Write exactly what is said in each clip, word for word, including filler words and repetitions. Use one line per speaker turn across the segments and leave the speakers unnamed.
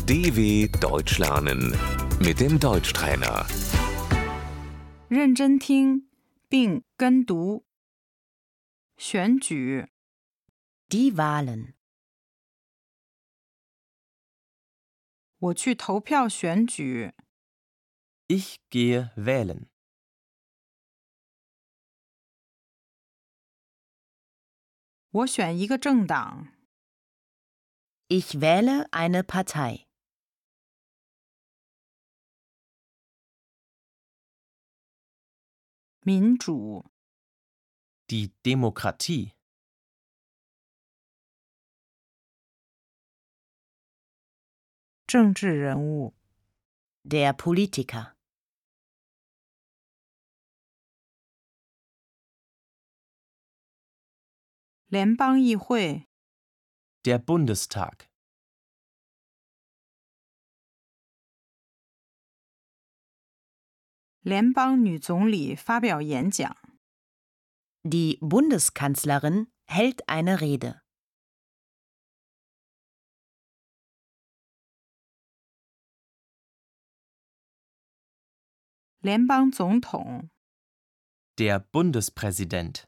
D W Deutsch lernen mit dem Deutschtrainer.
认真听并跟读。选举，
Die Wahlen.
我去投票选举。
Ich gehe wählen.
我选一个政党。
Ich wähle eine Partei.
民主，
Die Demokratie.
政治人物，
Der Politiker.
联邦议会，
Der Bundestag.
联邦女总理发表演讲。
Die Bundeskanzlerin hält eine Rede.
联邦总统，
Der Bundespräsident.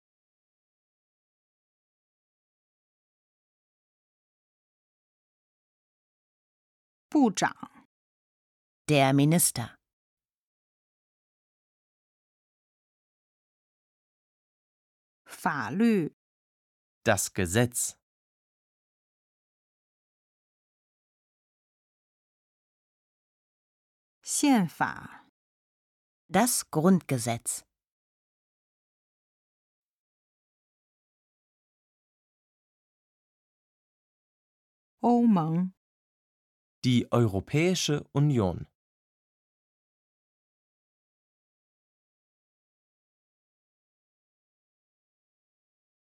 部长，
Der Minister.
法律，
Das Gesetz.
宪法，
Das Grundgesetz.
欧盟，
Die Europäische Union.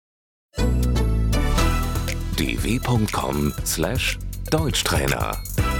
d w punkt com slash Deutschtrainer